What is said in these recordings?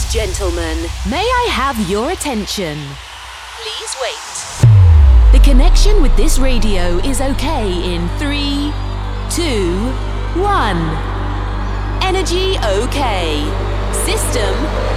Gentlemen, may I have your attention? Please wait. The connection with this radio is okay in 3, 2, 1. Energy okay. System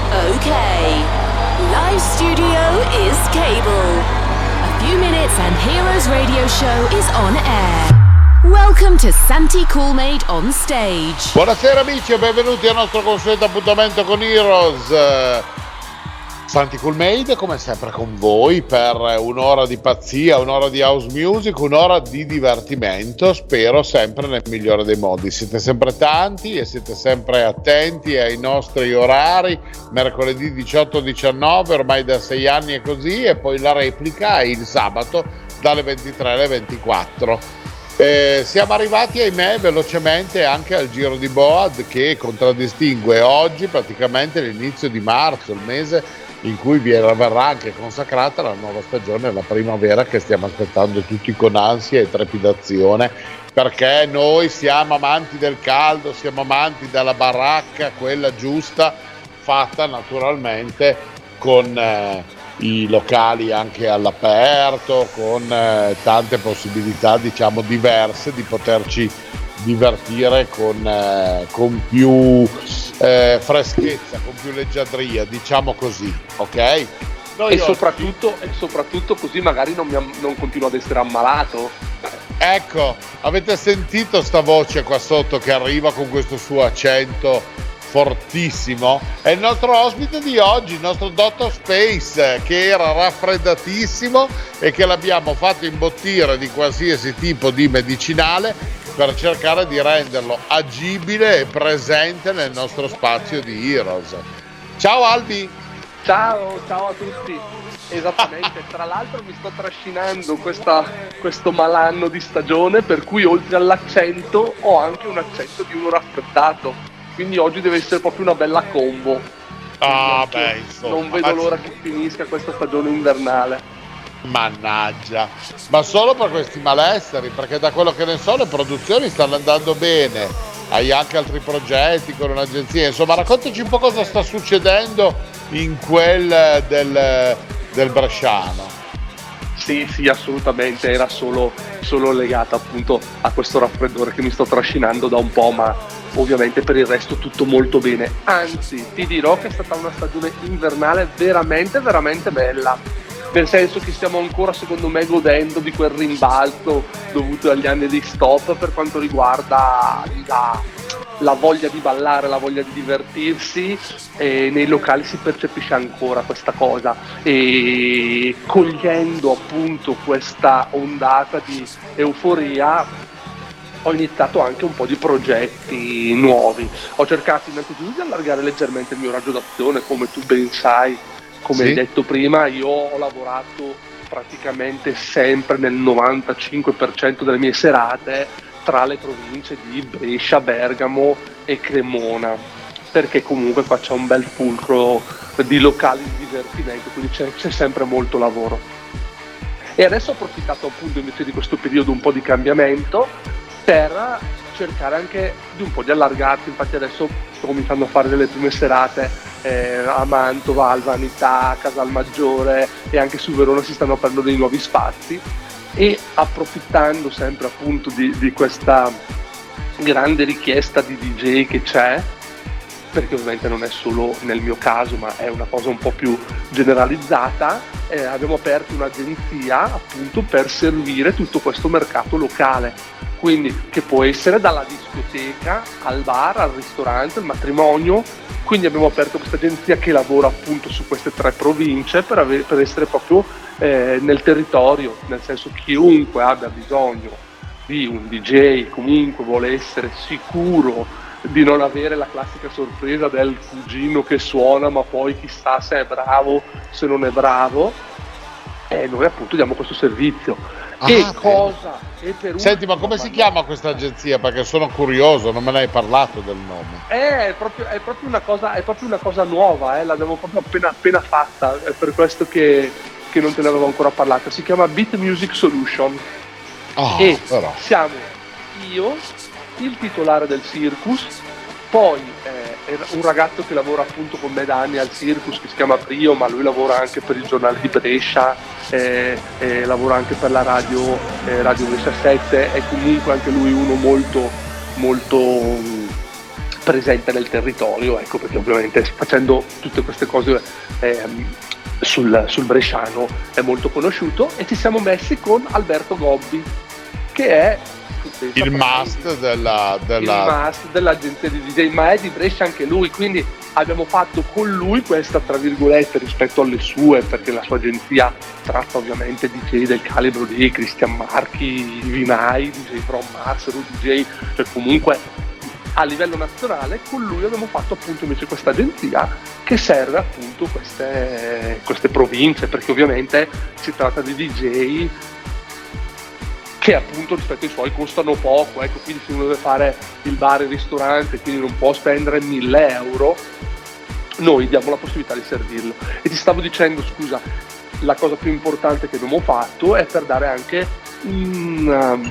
okay. Live studio is cable. A few minutes and Heroes Radio Show is on air. Welcome to Santi Coolmade on stage. Buonasera amici e benvenuti al nostro consueto appuntamento con Heroes. Santi Coolmade come sempre con voi per un'ora di pazzia, un'ora di house music, un'ora di divertimento, spero sempre nel migliore dei modi. Siete sempre tanti e siete sempre attenti ai nostri orari, mercoledì 18-19, ormai da 6 anni è così, e poi la replica è il sabato dalle 23 alle 24. Siamo arrivati, ahimè, velocemente anche al Giro di Boad, che contraddistingue oggi praticamente l'inizio di marzo, il mese in cui verrà anche consacrata la nuova stagione, la primavera, che stiamo aspettando tutti con ansia e trepidazione, perché noi siamo amanti del caldo, siamo amanti della baracca, quella giusta, fatta naturalmente con i locali anche all'aperto, con tante possibilità, diciamo, diverse di poterci divertire con più freschezza, con più leggiadria, diciamo così, ok? E soprattutto così magari non continuo ad essere ammalato. Ecco, avete sentito sta voce qua sotto che arriva con questo suo accento fortissimo? È il nostro ospite di oggi, il nostro Dottor Space, che era raffreddatissimo e che l'abbiamo fatto imbottire di qualsiasi tipo di medicinale per cercare di renderlo agibile e presente nel nostro spazio di Heroes. Ciao Albi! Ciao a tutti! Esattamente, tra l'altro mi sto trascinando questo malanno di stagione, per cui oltre all'accento ho anche un accento di uno raffreddato. Quindi oggi deve essere proprio una bella combo. Insomma, non vedo l'ora che finisca questa stagione invernale. Mannaggia, ma solo per questi malesseri, perché da quello che ne so le produzioni stanno andando bene, hai anche altri progetti con un'agenzia, insomma raccontaci un po' cosa sta succedendo in quel del bresciano. Sì, assolutamente, era solo legata appunto a questo raffreddore che mi sto trascinando da un po', ma ovviamente per il resto tutto molto bene. Anzi, ti dirò che è stata una stagione invernale veramente, veramente bella, nel senso che stiamo ancora, secondo me, godendo di quel rimbalzo dovuto agli anni di stop per quanto riguarda la voglia di ballare, la voglia di divertirsi, e nei locali si percepisce ancora questa cosa, e cogliendo appunto questa ondata di euforia ho iniziato anche un po' di progetti nuovi. Ho cercato innanzitutto di allargare leggermente il mio raggio d'azione, come tu ben sai, come hai detto prima. Io ho lavorato praticamente sempre nel 95% delle mie serate tra le province di Brescia, Bergamo e Cremona, perché comunque qua c'è un bel fulcro di locali di divertimento, quindi c'è sempre molto lavoro. E adesso ho approfittato appunto invece di questo periodo un po' di cambiamento per cercare anche di un po' di allargarsi. Infatti adesso sto cominciando a fare delle prime serate a Mantova, Alvanità, Casalmaggiore, e anche su Verona si stanno aprendo dei nuovi spazi, e approfittando sempre appunto di questa grande richiesta di DJ che c'è, perché ovviamente non è solo nel mio caso ma è una cosa un po' più generalizzata, abbiamo aperto un'agenzia appunto per servire tutto questo mercato locale, quindi che può essere dalla discoteca al bar, al ristorante, al matrimonio. Quindi abbiamo aperto questa agenzia che lavora appunto su queste 3 province per essere proprio nel territorio, nel senso chiunque abbia bisogno di un DJ, comunque vuole essere sicuro di non avere la classica sorpresa del cugino che suona ma poi chissà se è bravo, se non è bravo, noi appunto diamo questo servizio. Senti, ma come si chiama questa agenzia? Perché sono curioso, non me ne hai parlato del nome. È proprio una cosa nuova, l'abbiamo proprio appena fatta, è per questo che non te ne avevo ancora parlato. Si chiama Beat Music Solution. E siamo io, il titolare del Circus, poi un ragazzo che lavora appunto con me da anni al Circus, che si chiama Prio, ma lui lavora anche per il giornale di Brescia, lavora anche per la radio Brescia 7, è comunque anche lui uno molto presente nel territorio, ecco, perché ovviamente facendo tutte queste cose sul bresciano è molto conosciuto. E ci siamo messi con Alberto Gobbi, che è il must dell'agenzia di DJ, ma è di Brescia anche lui, quindi abbiamo fatto con lui questa, tra virgolette, rispetto alle sue, perché la sua agenzia tratta ovviamente DJ del calibro di Cristian Marchi, Vinai, DJ From Mars, DJ, cioè comunque a livello nazionale. Con lui abbiamo fatto appunto invece questa agenzia che serve appunto queste province, perché ovviamente si tratta di DJ che appunto rispetto ai suoi costano poco, ecco, quindi se uno deve fare il bar e il ristorante, quindi non può spendere 1.000 euro, noi diamo la possibilità di servirlo. E ti stavo dicendo, scusa, la cosa più importante che abbiamo fatto è per dare anche un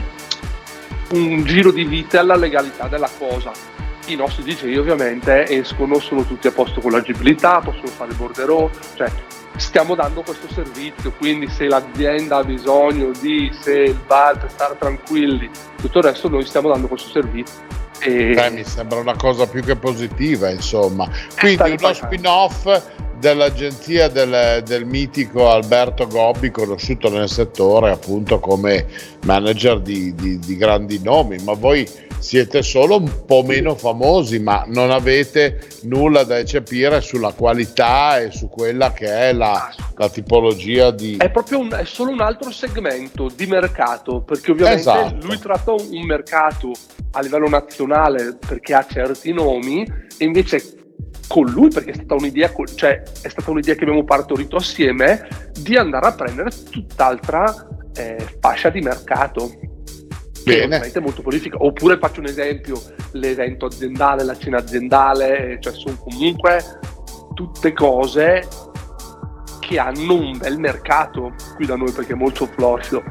giro di vite alla legalità della cosa. I nostri DJ ovviamente escono, sono tutti a posto con l'agibilità, possono fare il borderò, cioè stiamo dando questo servizio, quindi se l'azienda ha bisogno se il bar per stare tranquilli, tutto il resto, noi stiamo dando questo servizio. Mi sembra una cosa più che positiva, insomma. Quindi uno spin-off dell'agenzia del mitico Alberto Gobbi, conosciuto nel settore appunto come manager di grandi nomi, ma voi siete solo un po' meno famosi, ma non avete nulla da eccepire sulla qualità e su quella che è la tipologia di... È solo un altro segmento di mercato, perché ovviamente lui tratta un mercato a livello nazionale perché ha certi nomi, e invece con lui, perché è stata un'idea, che abbiamo partorito assieme, di andare a prendere tutt'altra fascia di mercato. Bene. È molto prolifica. Oppure faccio un esempio, l'evento aziendale, la cena aziendale, cioè sono comunque tutte cose che hanno un bel mercato qui da noi, perché è molto florido.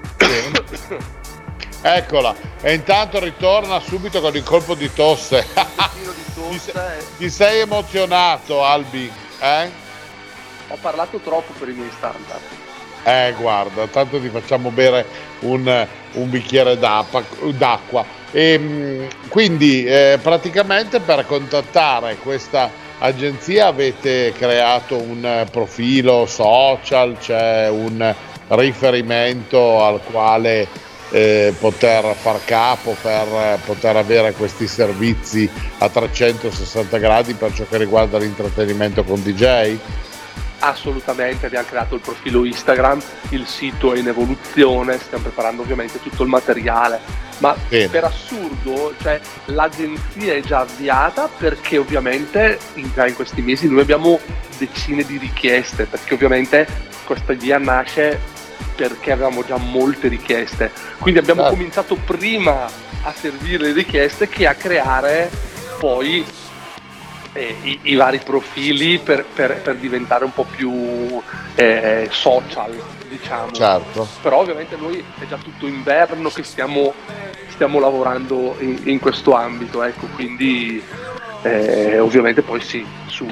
Eccola, e intanto ritorna subito con il colpo di tosse. Ti sei emozionato, Albi? Ho parlato troppo per i miei standard. Guarda, tanto ti facciamo bere un bicchiere d'acqua. E quindi praticamente per contattare questa agenzia avete creato un profilo social, c'è un riferimento al quale poter far capo per poter avere questi servizi a 360 gradi per ciò che riguarda l'intrattenimento con DJ? Assolutamente, abbiamo creato il profilo Instagram, il sito è in evoluzione, stiamo preparando ovviamente tutto il materiale, ma per assurdo, cioè, l'agenzia è già avviata, perché ovviamente già in questi mesi noi abbiamo decine di richieste, perché ovviamente questa idea nasce perché avevamo già molte richieste, quindi abbiamo cominciato prima a servire le richieste che a creare poi i vari profili per diventare un po' più social, diciamo. Certo. Però ovviamente noi è già tutto inverno che stiamo lavorando in questo ambito, ecco, quindi ovviamente poi sì,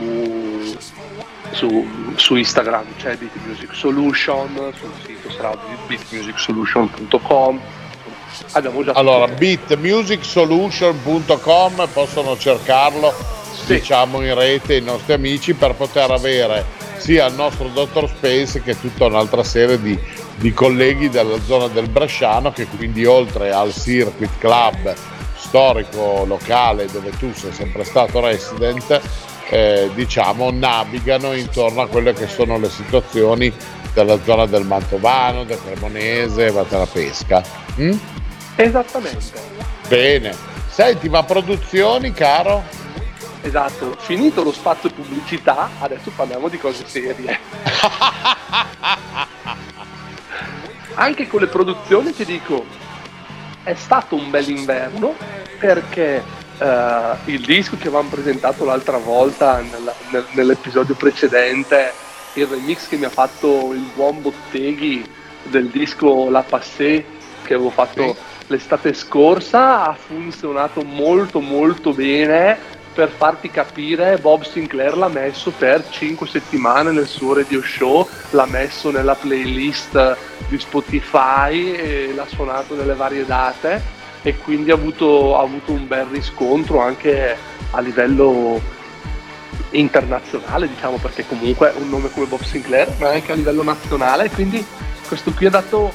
su Instagram c'è Beat Music Solution, sul sito sarà beatmusicsolution.com. Abbiamo già beatmusicsolution.com, possono cercarlo, diciamo, in rete i nostri amici, per poter avere sia il nostro Dr. Space che tutta un'altra serie di colleghi della zona del Bresciano, che quindi oltre al Circuit Club storico locale dove tu sei sempre stato resident, diciamo navigano intorno a quelle che sono le situazioni della zona del Mantovano, del Cremonese, della Pesca. Esattamente. Bene, senti, ma produzioni, caro? Esatto, finito lo spazio pubblicità, adesso parliamo di cose serie. Anche con le produzioni ti dico, è stato un bel inverno, perché il disco che avevamo presentato l'altra volta nell'episodio precedente, il remix che mi ha fatto il buon Botteghi del disco La Passé che avevo fatto l'estate scorsa, ha funzionato molto molto bene, per farti capire, Bob Sinclair l'ha messo per 5 settimane nel suo radio show, l'ha messo nella playlist di Spotify e l'ha suonato nelle varie date, e quindi ha avuto un bel riscontro anche a livello internazionale, diciamo, perché comunque un nome come Bob Sinclair, ma anche a livello nazionale, quindi questo qui ha dato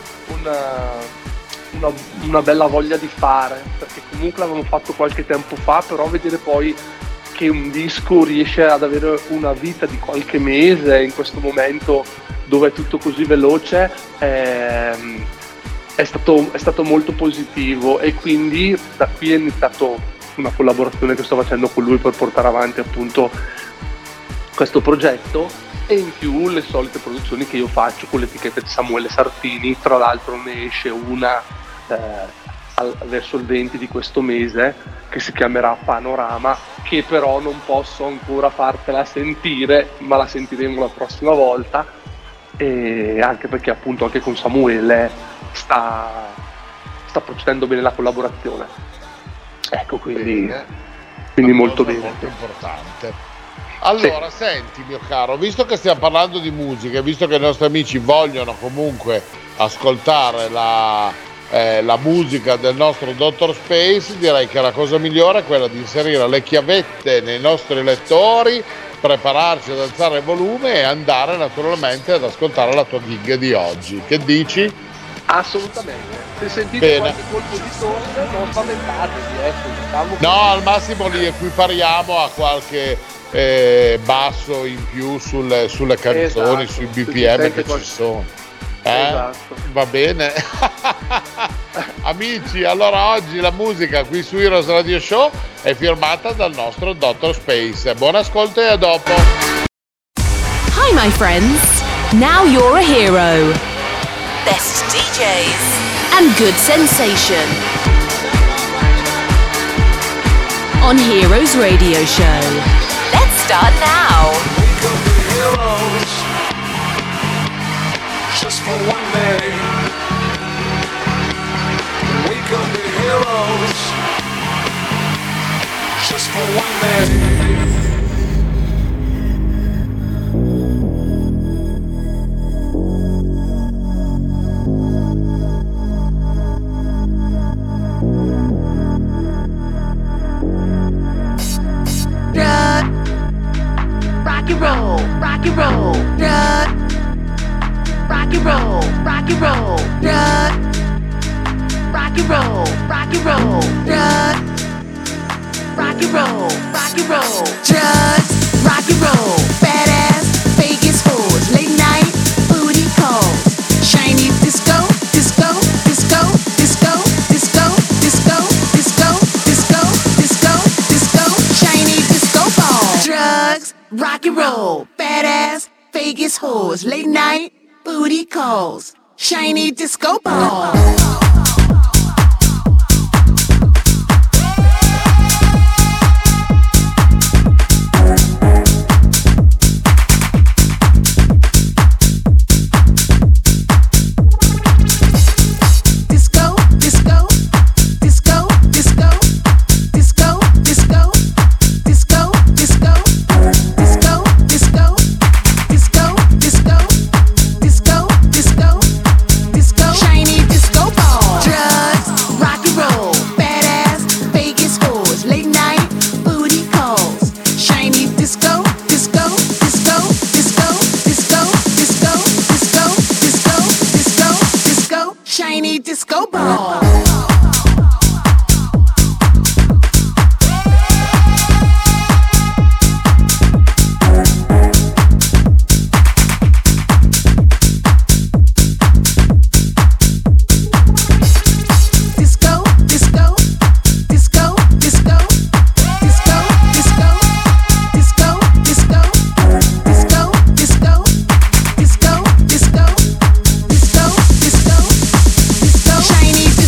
una bella voglia di fare, perché comunque l'avevamo fatto qualche tempo fa, però vedere poi che un disco riesce ad avere una vita di qualche mese in questo momento dove è tutto così veloce è stato molto positivo, e quindi da qui è iniziato una collaborazione che sto facendo con lui per portare avanti appunto questo progetto, e in più le solite produzioni che io faccio con l'etichetta di Samuele Sartini. Tra l'altro ne esce una verso il 20 di questo mese che si chiamerà Panorama, che però non posso ancora fartela sentire, ma la sentiremo la prossima volta, e anche perché appunto anche con Samuele sta procedendo bene la collaborazione, ecco, quindi molto bene, molto importante. Allora, sì. Senti mio caro, visto che stiamo parlando di musica, visto che i nostri amici vogliono comunque ascoltare la musica del nostro Dr. Space, direi che la cosa migliore è quella di inserire le chiavette nei nostri lettori, prepararci ad alzare il volume e andare naturalmente ad ascoltare la tua gig di oggi. Che dici? Assolutamente. Se sentite qualche colpo di tosse non spaventatevi, diciamo che... No, al massimo li equipariamo a qualche basso in più sulle canzoni, esatto, sui BPM che ci sono. Esatto. Va bene. Amici, allora oggi la musica qui su Heroes Radio Show è firmata dal nostro Dr. Space. Buon ascolto e a dopo. Hi my friends, now you're a hero. Best DJs and good sensation on Heroes Radio Show. Let's start now. We could be heroes just for one day. We could be heroes just for one day. Rock and roll, rock and roll, rock and roll, rock and roll, rock and roll, rock and roll, rock and roll, rock and roll, just rock and roll, badass Vegas hoes, late night booty calls, shiny disco, disco, disco, disco, disco, disco, disco, disco, disco, disco, shiny disco ball, drugs. Rock and roll, badass Vegas hoes, late night booty calls, shiny disco ball. Disco ball. Chinese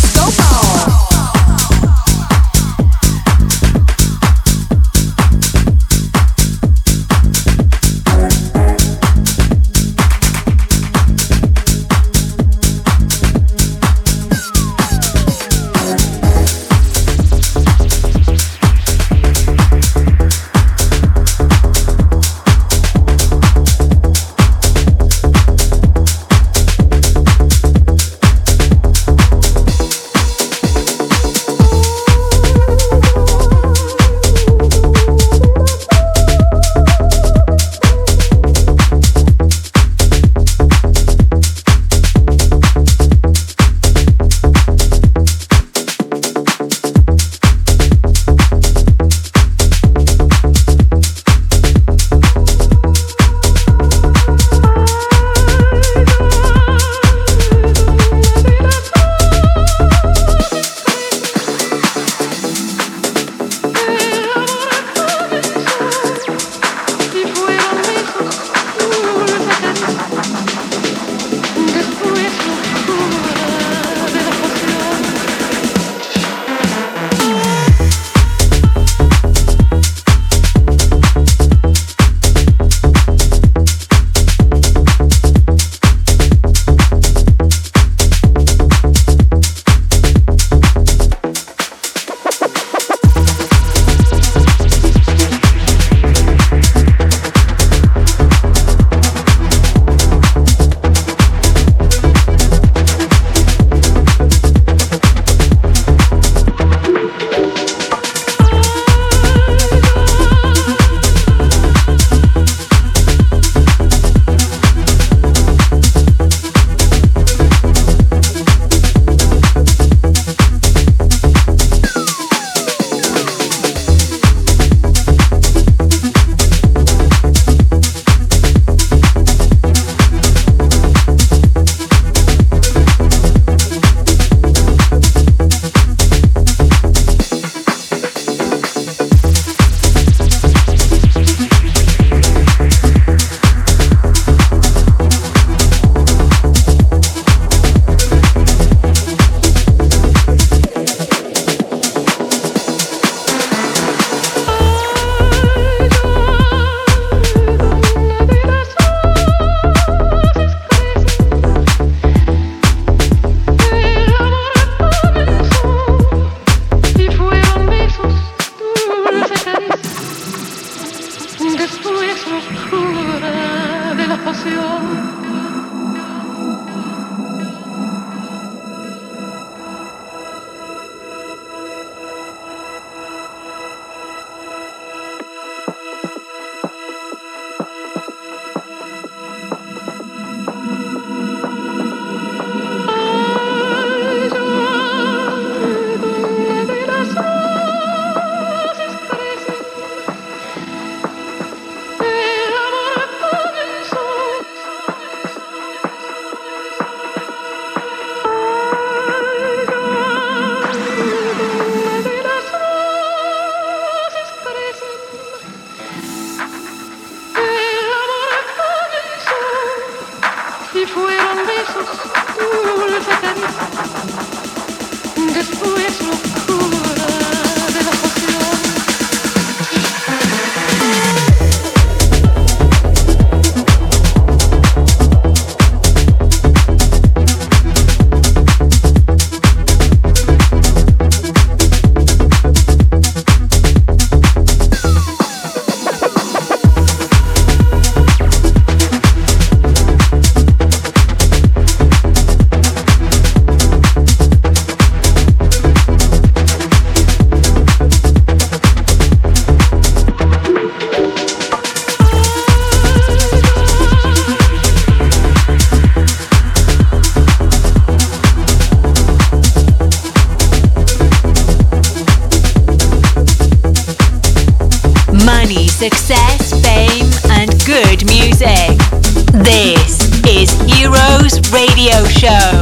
Success, fame, and good music. This is Heroes Radio Show.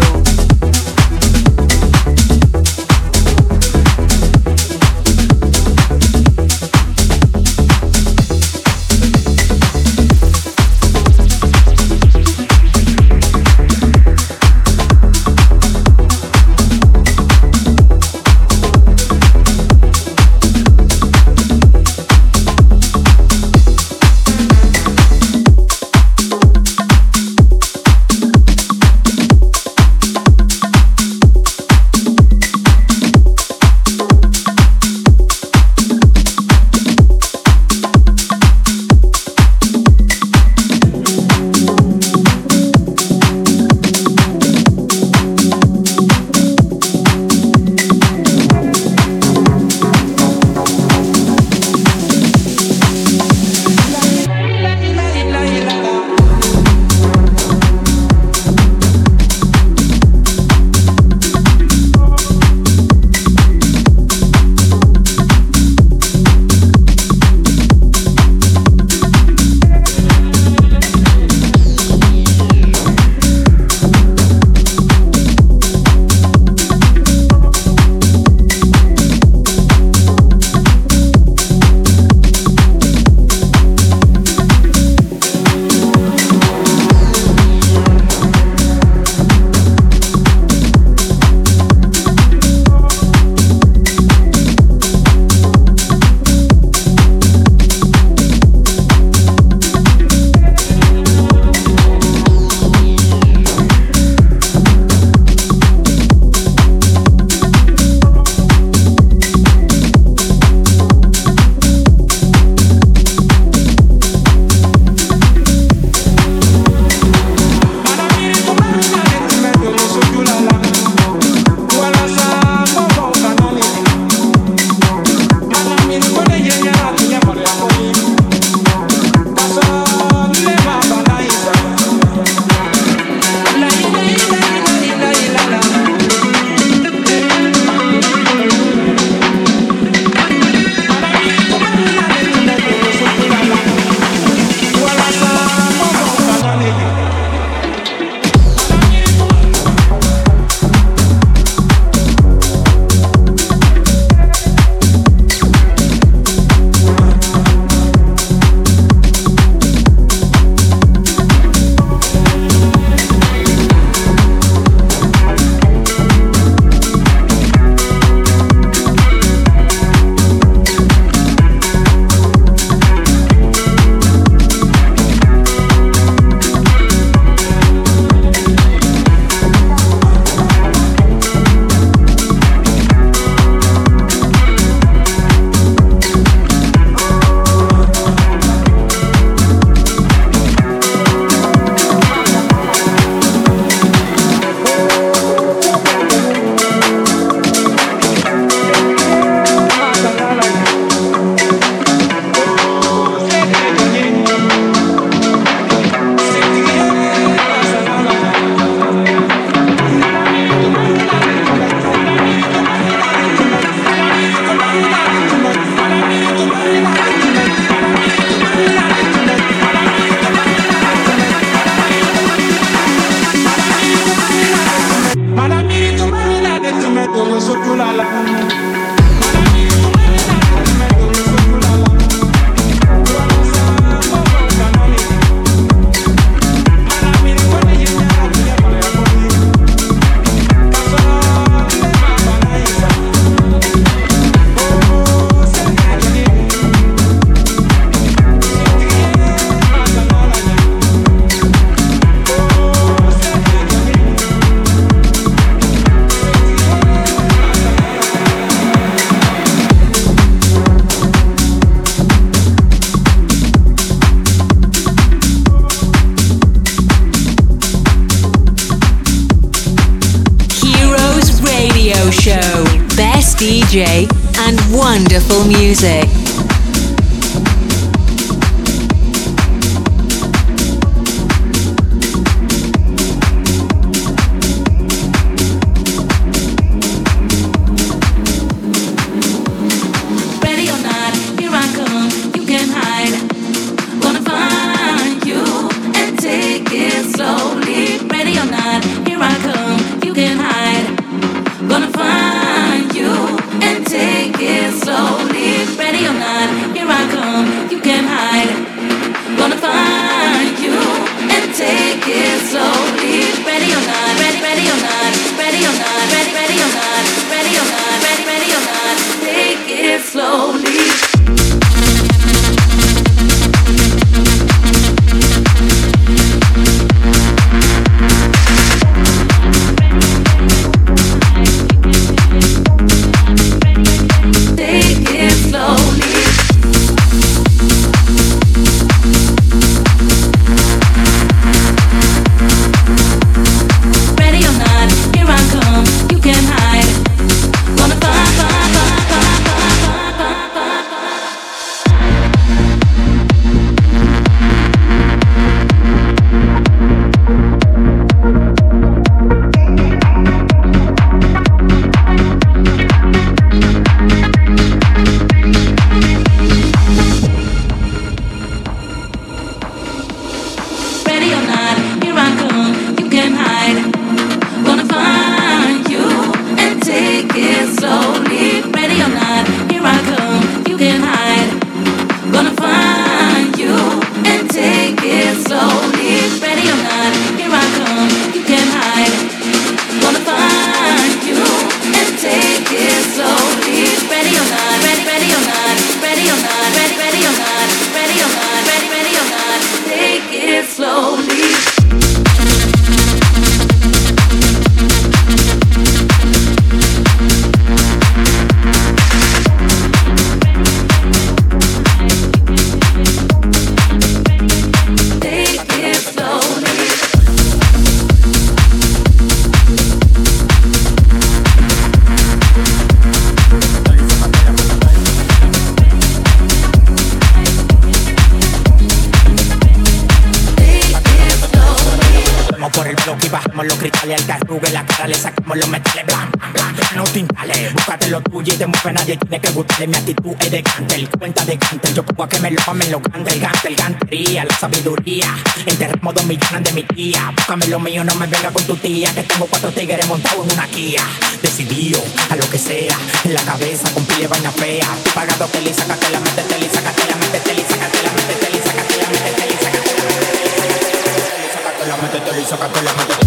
Radio Show. Best DJ and wonderful music. Nadie tiene que gustarle mi actitud es de canter, cuenta de canter. Yo pongo a que me lo mamen los gantes, el gantería, la sabiduría. Enterramos 2 millones de mi tía. Búscame lo mío, no me venga con tu tía. Que tengo 4 tigres montados en una Kia. Decidido a lo que sea, en la cabeza con pile vaina fea. Tú pagado tele y sácate la mente, tele y sácate la mente, tele y sácate la mente, tele y sácate la mente, tele y sácate la mente, tele y sácate la mente, tele y sácate la mente.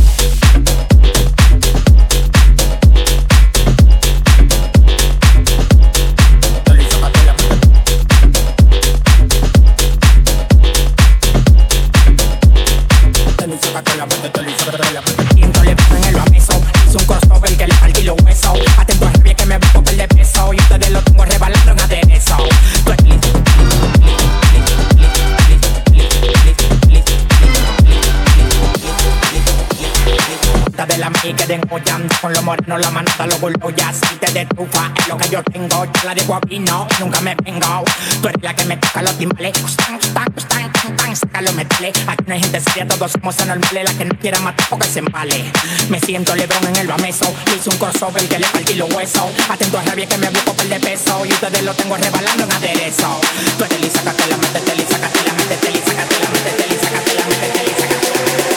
Con los morenos la manada los burlos ya aceite de trufa es lo que yo tengo, yo la dejo a vino, nunca me vengo. Tú eres la que me toca los timbales, saca los metales. Aquí no hay gente seria, todos somos anormales. La que no quiera matar porque se embale. Me siento Lebron en el bameso, hice un crossover que le partí los huesos. Atento a rabia que me busco per de peso y ustedes lo tengo rebalando en aderezo. Tú eres Lisa, sácate la mente, tele, sácate la mente, tele, sácate la mente, tele, sácate la mente, tele, sácate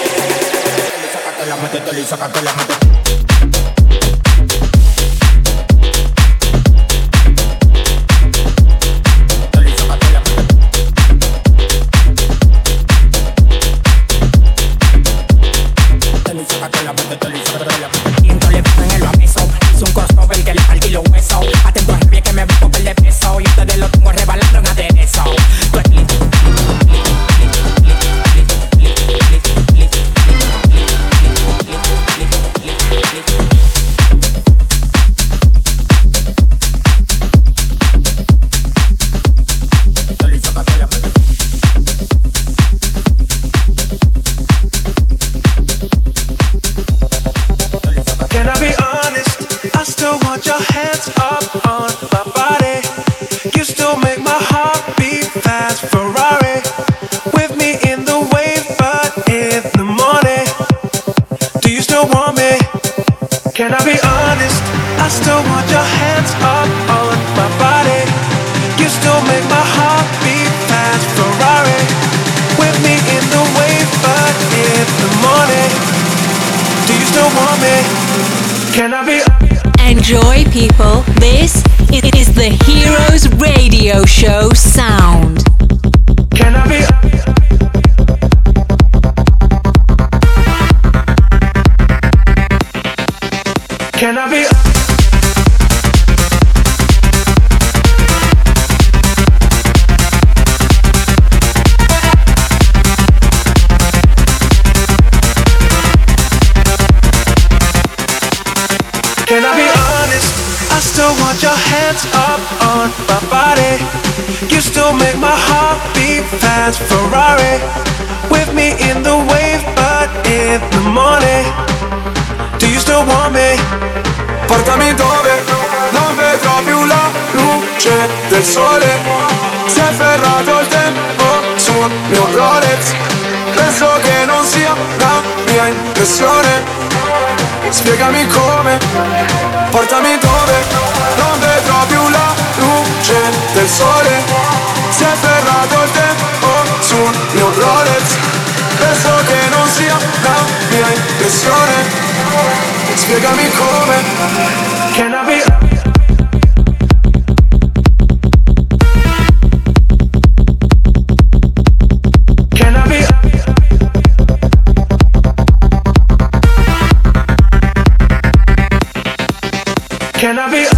la mente, tele, sácate la mente. want me? Can I be? Enjoy, people. This is the Heroes Radio Show sound. Can I be? Can I be? Can I be honest? I still want your hands up on my body. You still make my heart beat fast. Ferrari with me in the wave, but in the morning. Do you still want me? Portami dove non vedrò più la luce del sole. Si è ferrato il tempo sul mio Rolex. Penso che non sia la mia impressione. Spiegami come, portami dove non vedrò più la luce del sole. Si è ferrato il tempo sul mio Rolex. Penso che non sia la mia impressione. Spiegami come. Can I be? Can I be? Can I be?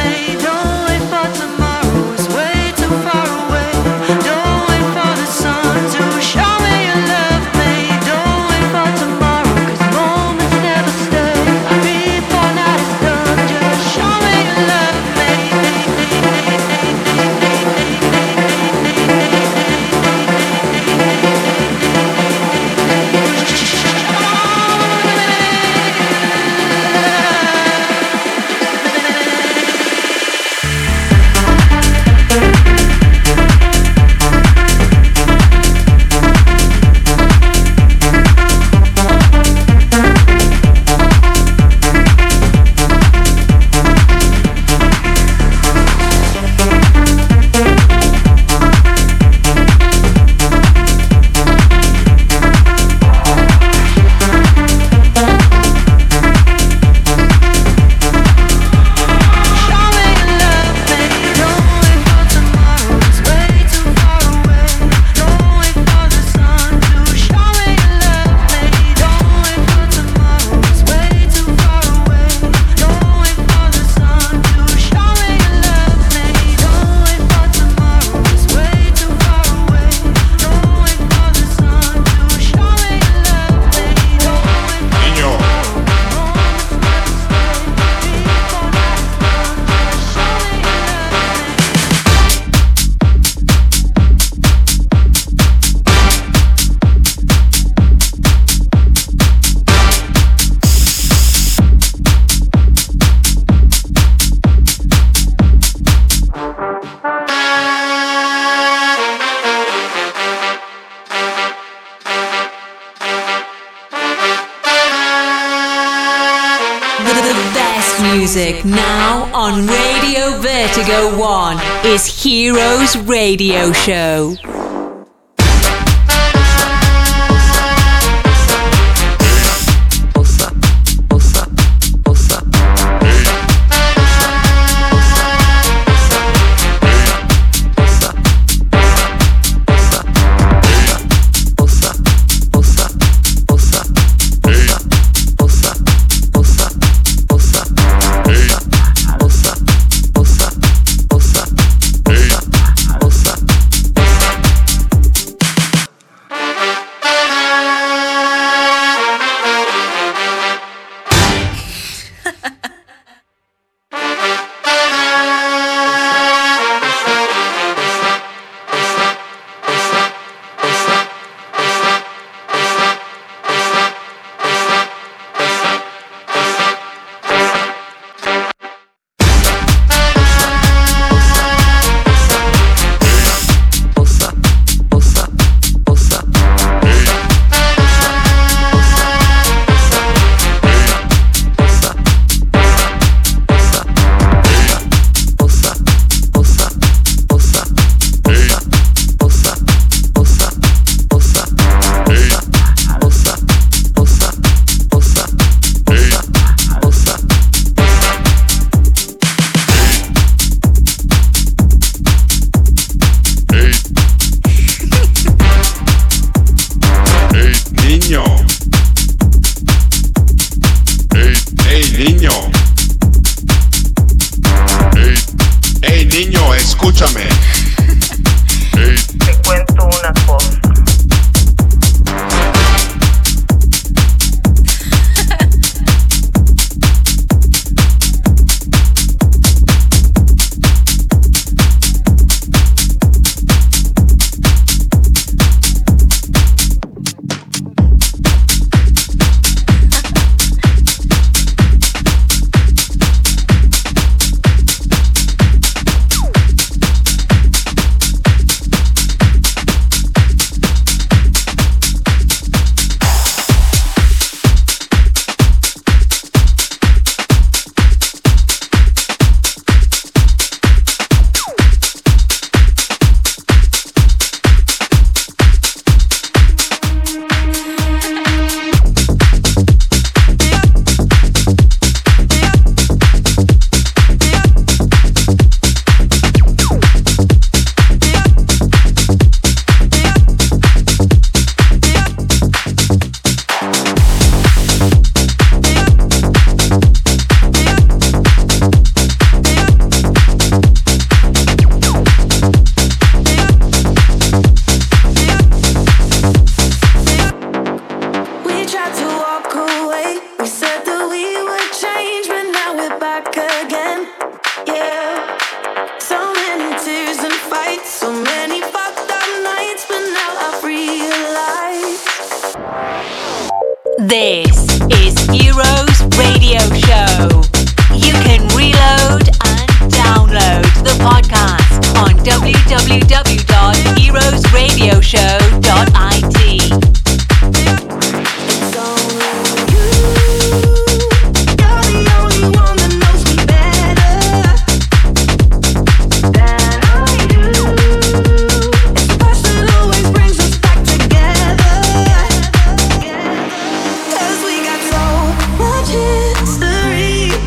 Don't wait for the sun. music now on Radio Vertigo 1 is Heroes Radio Show. This is Heroes Radio Show. You can reload and download the podcast on www.heroesradioshow.it. History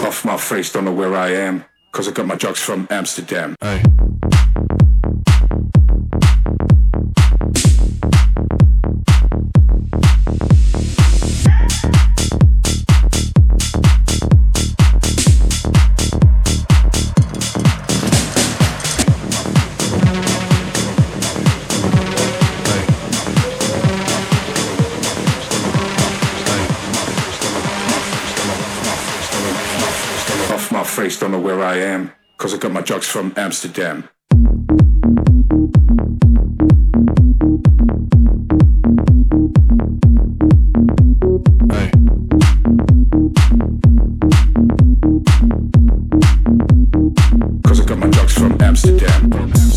Off my face, don't know where I am, cause I got my drugs from Amsterdam. Hey. Face, don't know where I am, cause I got my drugs from Amsterdam. Hey. Cause I got my drugs from Amsterdam.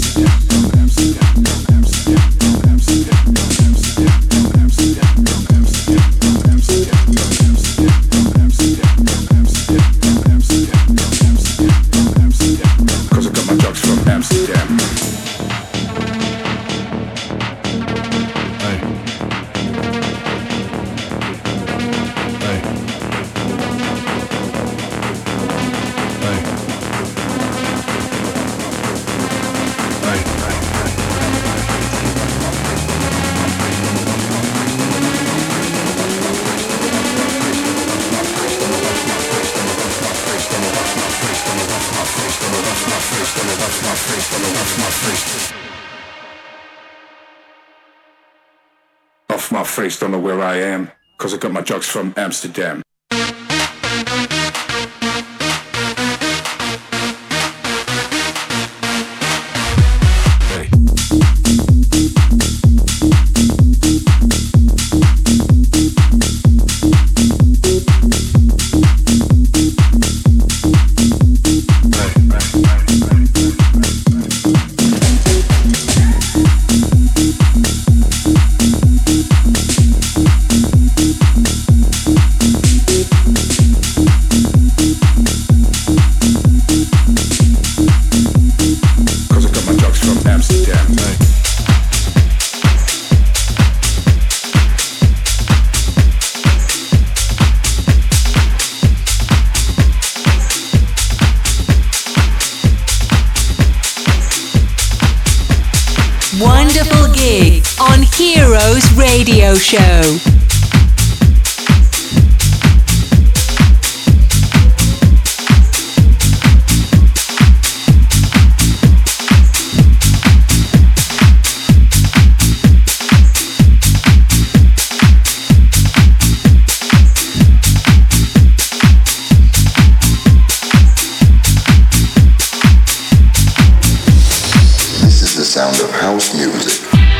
Off my face, don't know where I am, cause I got my drugs from Amsterdam. Wonderful gig on Heroes Radio Show. Sound of house music.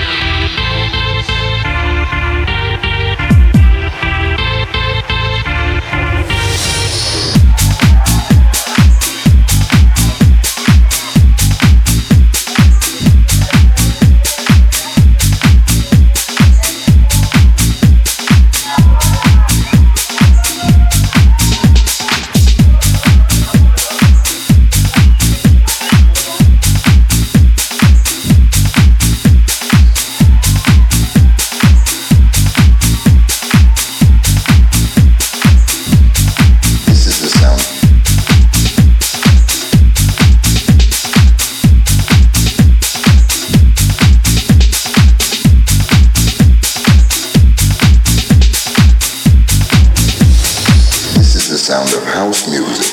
Sound of house music.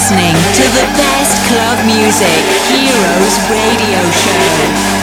listening to the best club music, Heroes Radio Show.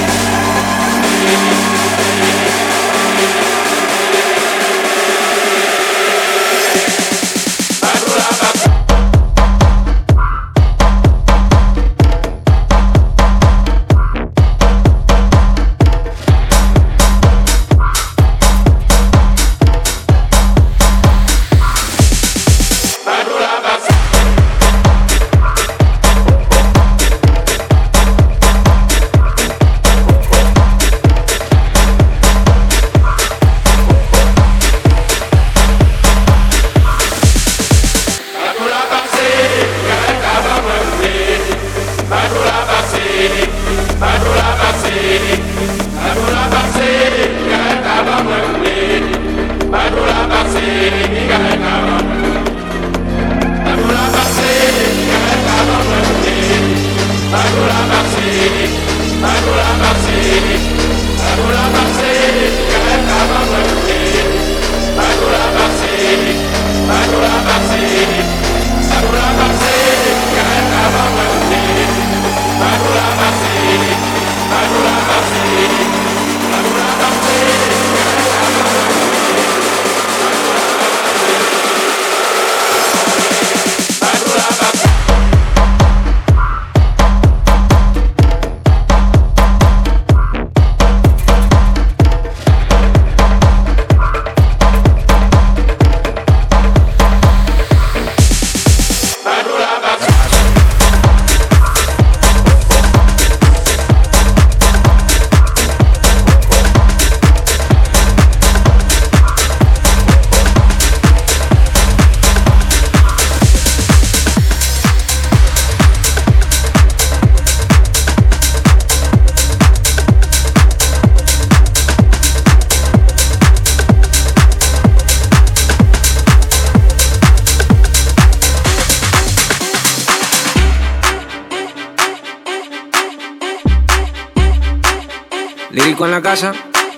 Lírico en la casa.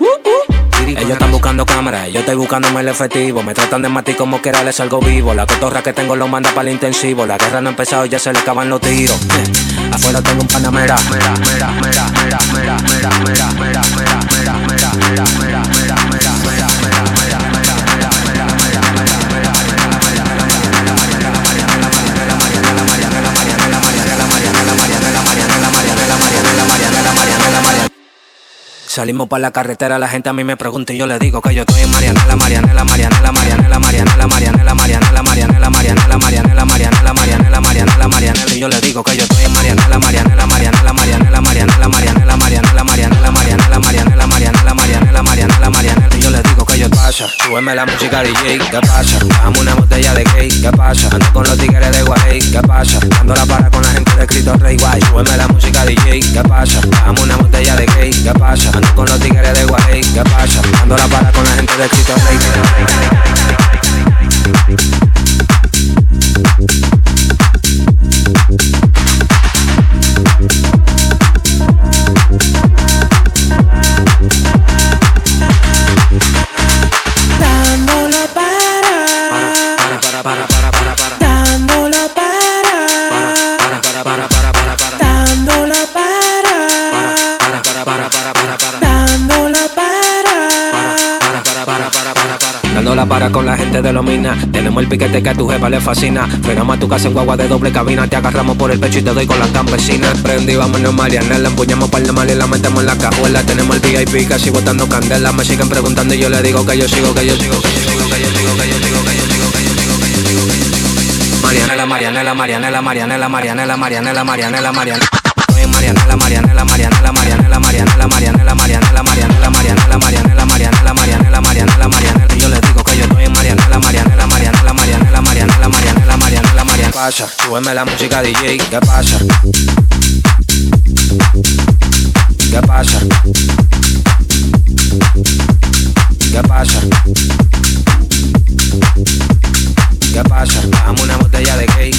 Ellos están buscando cámaras, yo estoy buscándome el efectivo. Me tratan de matar como quiera, les salgo vivo. La cotorra que tengo lo manda para el intensivo. La guerra no ha empezado, ya se le acaban los tiros. Afuera tengo un panamera. Salimos para la carretera, la gente a mí me pregunta y yo le digo que yo estoy en Marianela, Marianela, Marianela, Marianela, Marianela, Marianela, Marianela, Marianela, Marianela, Marianela, Marianela, Marianela, Marianela, Marianela, y yo le digo que yo estoy en Marianela, Marianela, Marianela, Marianela, Marianela, Marianela, Marianela, Marianela, Marianela, Marianela, Marianela, Marianela, Marianela, Marianela, y yo le digo que yo pasa, súbeme la música DJ, ¿qué pasa? Dame una botella de cake, ¿qué pasa? Ando con los tigres de Guay, ¿qué pasa? Dando la para con la gente de Cristo Rey Guay, súbeme la música DJ, ¿qué pasa? Dame una botella de cake, ¿qué pasa? Con los tigres de Guay, ¿qué pasa? Dando la para con la gente de Cristo Rey. Para con la gente de los minas. Tenemos el piquete que a tu jefa le fascina. Frenamos a tu casa en guagua de doble cabina. Te agarramos por el pecho y te doy con las campesinas. Prendí, vámonos Marianela. Empuñamos par de mal y la metemos en la cajuela. Tenemos el VIP casi botando candela. Me siguen preguntando y yo le digo que yo sigo, que yo sigo, que yo sigo, que yo sigo, que yo sigo, que yo sigo, que yo sigo, que yo sigo, que yo sigo. Marianela, Marianela, Marianela, Marianela, Marianela, Marianela, Marianela, Marianela. Marianela, Marianela, Marianela, Marianela, Marianela, Marianela, Marianela, Marianela, Marianela, Marianela, Marianela, Marianela, Marianela, Marianela, y yo le digo que yo estoy en Marianela, Marianela, Marianela, Marianela, Marianela, Marianela, Marianela, Marianela. Pasa, súbeme la música DJ, ¿qué pasa? ¿Qué pasa? ¿Qué pasa? ¿Qué pasa? Dame una botella de cake.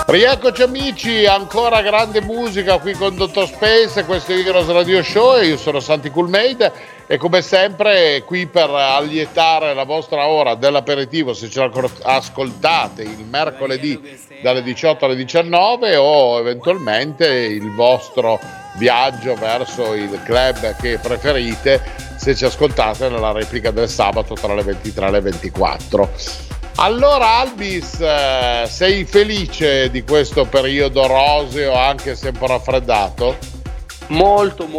Rieccoci amici, ancora grande musica qui con Dottor Space, questo è Heroes Radio Show e io sono Santi Coolmade e come sempre qui per allietare la vostra ora dell'aperitivo se ce ascoltate il mercoledì dalle 18 alle 19 o eventualmente il vostro viaggio verso il club che preferite se ci ascoltate nella replica del sabato tra le 23 e le 24. Allora Albis, sei felice di questo periodo roseo anche se un po' raffreddato? Molto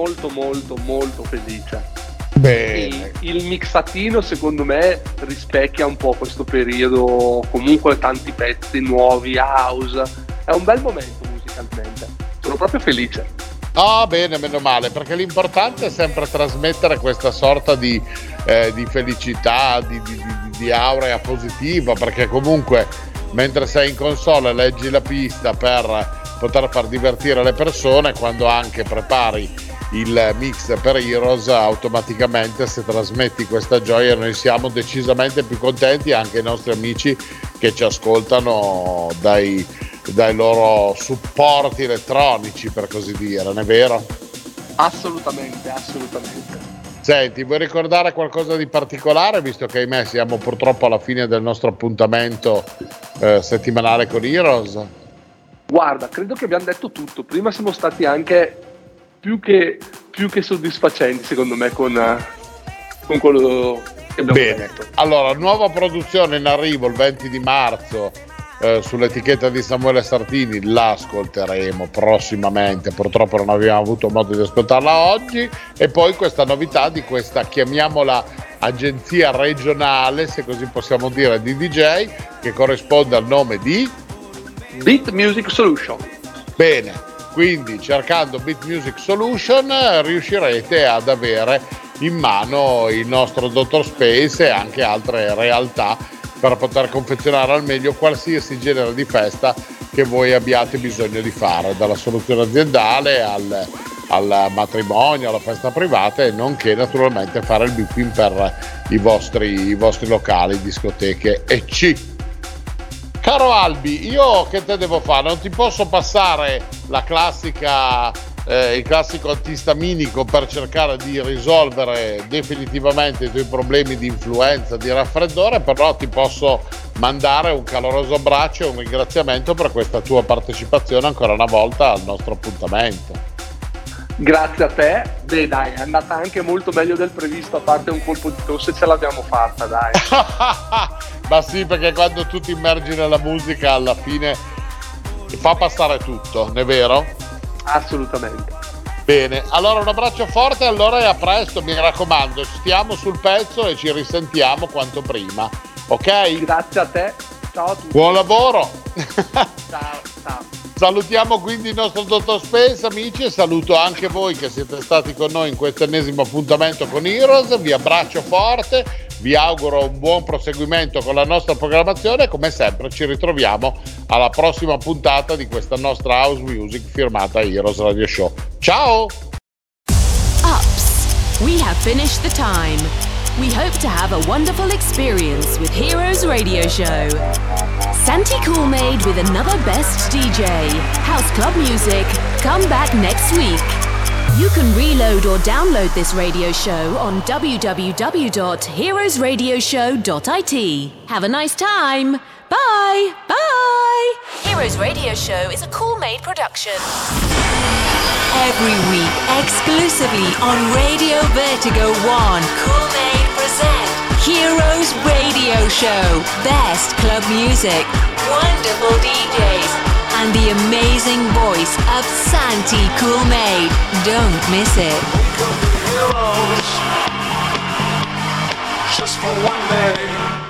felice. Bene. Il mixatino secondo me rispecchia un po' questo periodo, comunque tanti pezzi nuovi, house, è un bel momento musicalmente, sono proprio felice. Ah, bene, meno male, perché l'importante è sempre trasmettere questa sorta di felicità, di aurea positiva, perché comunque mentre sei in console leggi la pista per poter far divertire le persone, quando anche prepari il mix per Heroes automaticamente se trasmetti questa gioia noi siamo decisamente più contenti, anche i nostri amici che ci ascoltano dai loro supporti elettronici, per così dire, non è vero? Assolutamente. Senti, vuoi ricordare qualcosa di particolare, visto che ahimè siamo purtroppo alla fine del nostro appuntamento settimanale con Heroes? Guarda, credo che abbiamo detto tutto, prima siamo stati anche più che soddisfacenti secondo me con quello che abbiamo detto. Allora, nuova produzione in arrivo il 20 di marzo sull'etichetta di Samuele Sartini, la ascolteremo prossimamente, purtroppo non abbiamo avuto modo di ascoltarla oggi, e poi questa novità di questa, chiamiamola agenzia regionale, se così possiamo dire, di DJ, che corrisponde al nome di Beat Music Solution. Bene, quindi cercando Beat Music Solution riuscirete ad avere in mano il nostro Dottor Space e anche altre realtà per poter confezionare al meglio qualsiasi genere di festa che voi abbiate bisogno di fare, dalla soluzione aziendale al matrimonio, alla festa privata, e nonché naturalmente fare il beeping per i vostri locali, discoteche ecc. Caro Albi, io che te devo fare? Non ti posso passare la classica il classico antistaminico per cercare di risolvere definitivamente i tuoi problemi di influenza, di raffreddore, però ti posso mandare un caloroso abbraccio e un ringraziamento per questa tua partecipazione ancora una volta al nostro appuntamento. Grazie a te. Beh dai, è andata anche molto meglio del previsto, a parte un colpo di tosse ce l'abbiamo fatta, dai. Ma sì, perché quando tu ti immergi nella musica alla fine fa passare tutto, non è vero? Assolutamente. Bene, allora un abbraccio forte, allora, e a presto, mi raccomando, stiamo sul pezzo e ci risentiamo quanto prima, ok? Grazie a te, ciao a tutti. Buon lavoro. Ciao. Salutiamo quindi il nostro Dottor Space, amici, e saluto anche voi che siete stati con noi in questo ennesimo appuntamento con Heroes. Vi abbraccio forte, vi auguro un buon proseguimento con la nostra programmazione e come sempre ci ritroviamo alla prossima puntata di questa nostra house music firmata Heroes Radio Show. Ciao! Ups, we have finished the time. We hope to have a wonderful experience with Heroes Radio Show. Santi Coolmade with another best DJ, House Club Music. Come back next week. You can reload or download this radio show on www.heroesradioshow.it. Have a nice time. Bye. Bye. Heroes Radio Show is a Coolmade production. Every week, exclusively on Radio Vertigo 1, Coolmade present Heroes Radio Show. Best club music, wonderful DJs, and the amazing voice of Santi Coolmade. Don't miss it. Heroes, just for one day.